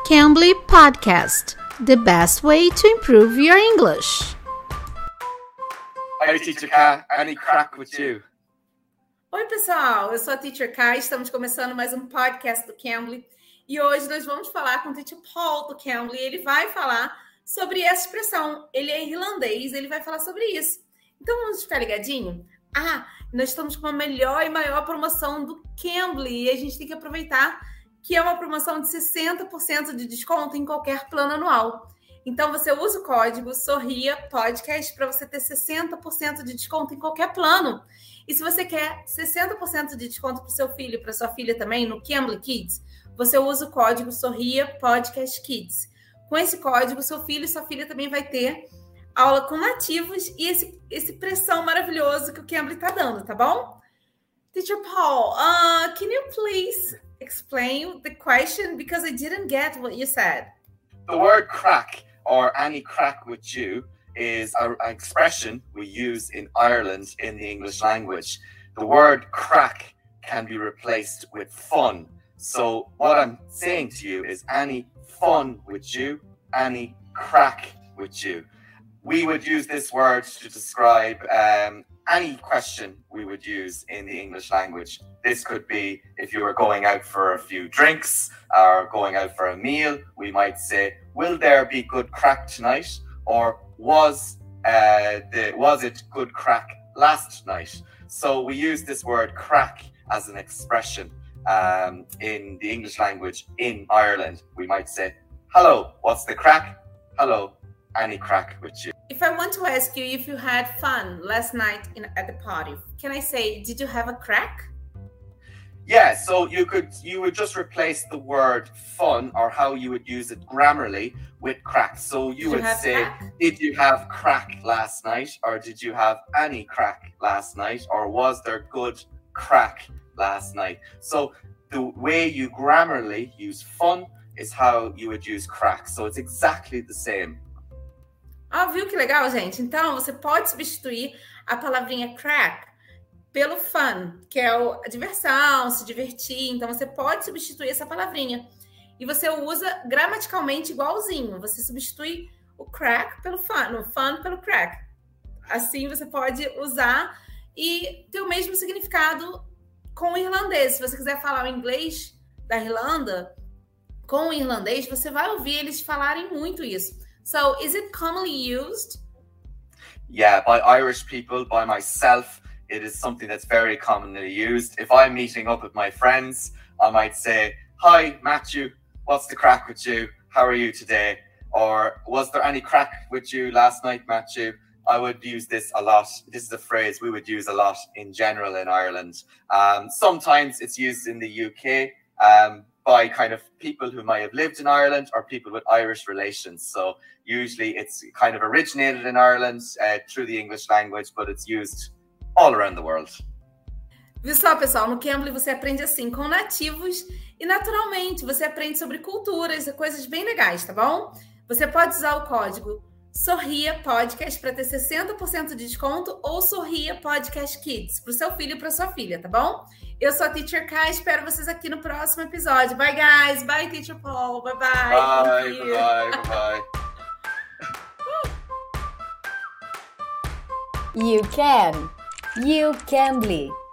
Cambly Podcast, the best way to improve your English. Hi, Teacher K. Any crack with you? Oi, pessoal. Eu sou a Teacher K. Estamos começando mais um podcast do Cambly. E hoje nós vamos falar com o Teacher Paul do Cambly. Ele vai falar sobre essa expressão. Ele é irlandês, ele vai falar sobre isso. Então, vamos ficar ligadinho? Nós estamos com a melhor e maior promoção do Cambly. E a gente tem que aproveitar que é uma promoção de 60% de desconto em qualquer plano anual. Então, você usa o código Sorria Podcast para você ter 60% de desconto em qualquer plano. E se você quer 60% de desconto para o seu filho e para sua filha também no Cambly Kids, você usa o código Sorria Podcast Kids. Com esse código, seu filho e sua filha também vai ter aula com nativos e esse pressão maravilhoso que o Cambly está dando, tá bom? Teacher Paul, can you please explain the question because I didn't get what you said? The word crack or any crack with you is an expression we use in Ireland in the English language. The word crack can be replaced with fun. So what I'm saying to you is any fun with you, any crack with you. We would use this word to describe any question we would use in the English language. This could be if you were going out for a few drinks or going out for a meal. We might say, will there be good crack tonight? Or was it good crack last night? So we use this word crack as an expression in the English language in Ireland. We might say, hello, what's the crack? Hello, any crack with you? If I want to ask you if you had fun last night at the party, can I say, did you have a crack? Yeah, so you would just replace the word fun or how you would use it grammarly with crack. So you would say, crack? Did you have crack last night? Or did you have any crack last night? Or was there good crack last night? So the way you grammarly use fun is how you would use crack. So it's exactly the same. Viu que legal, gente? Então, você pode substituir a palavrinha crack pelo fun, que é a diversão, se divertir. Então, você pode substituir essa palavrinha. E você usa gramaticalmente igualzinho. Você substitui o crack pelo fun, o fun pelo crack. Assim, você pode usar e ter o mesmo significado com o irlandês. Se você quiser falar o inglês da Irlanda, com o irlandês, você vai ouvir eles falarem muito isso. So, is it commonly used? Yeah, by Irish people, by myself, it is something that's very commonly used. If I'm meeting up with my friends, I might say, hi, Matthew, what's the crack with you? How are you today? Or was there any crack with you last night, Matthew? I would use this a lot. This is a phrase we would use a lot in general in Ireland. Sometimes it's used in the UK by kind of people who might have lived in Ireland or people with Irish relations. So usually it's kind of originated in Ireland through the English language, but it's used all around the world. Viu só, pessoal? No Cambly você aprende assim com nativos e naturalmente você aprende sobre culturas e coisas bem legais, tá bom? Você pode usar o código Sorria Podcast para ter 60% de desconto ou Sorria Podcast Kids para o seu filho e para sua filha, tá bom? Eu sou a Teacher K, espero vocês aqui no próximo episódio. Bye, guys. Bye, Teacher Paul. Bye, bye. Bye, bye, bye. You can. You Cambly.